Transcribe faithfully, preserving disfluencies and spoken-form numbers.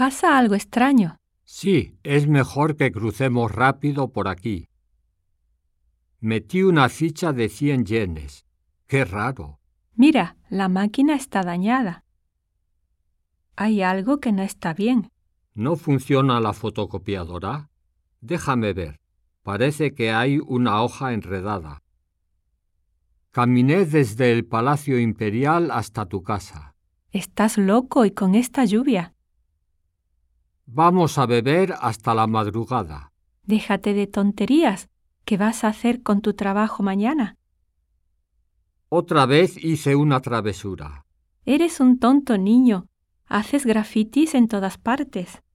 ¿Pasa algo extraño? Sí, es mejor que crucemos rápido por aquí. Metí una ficha de cien yenes. ¡Qué raro! Mira, la máquina está dañada. Hay algo que no está bien. ¿No funciona la fotocopiadora? Déjame ver. Parece que hay una hoja enredada. Caminé desde el Palacio Imperial hasta tu casa. Estás loco y con esta lluvia. Vamos a beber hasta la madrugada. Déjate de tonterías. ¿Qué vas a hacer con tu trabajo mañana? Otra vez hice una travesura. Eres un tonto niño. Haces grafitis en todas partes.